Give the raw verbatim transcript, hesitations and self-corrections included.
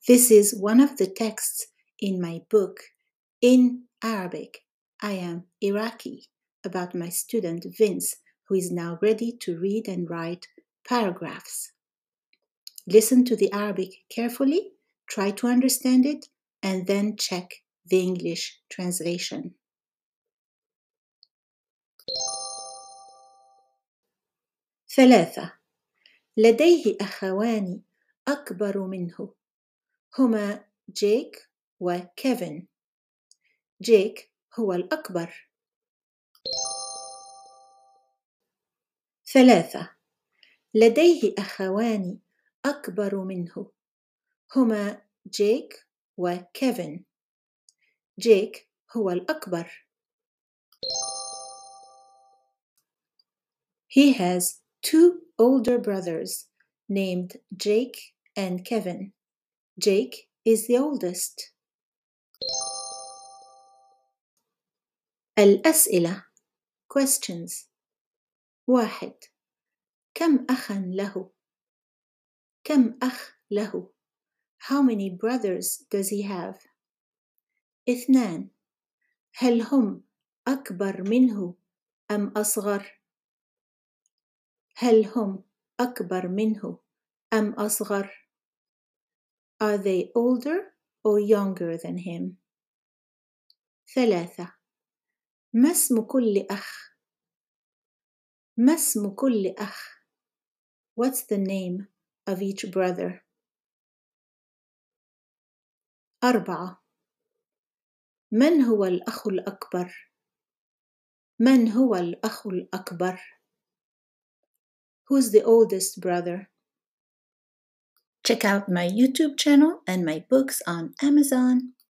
This is one of the texts in my book, In Arabic, I Am Iraqi, about my student Vince, who is now ready to read and write paragraphs. Listen to the Arabic carefully, try to understand it, and then check the English translation. ثلاثة. لديه أخوان أكبر منه، هما جيك وكيفن. جيك هو الأكبر. ثلاثة. لديه أخوان أكبر منه، هما جيك وكيفن. جيك هو الأكبر. He has two older brothers named Jake and Kevin. Jake is the oldest. الأسئلة questions. واحد. كم أخا له؟ كم أخ له؟ How many brothers does he have? اثنان. هل هم أكبر منه أم أصغر؟ هل هم أكبر منه أم أصغر؟ Are they older or younger than him? ثلاثة. ما اسم كل أخ؟ ما اسم كل أخ؟ What's the name of each brother? أربعة. من هو الأخ الأكبر؟ من هو الأخ الأكبر؟ Who's the oldest brother? Check out my YouTube channel and my books on Amazon.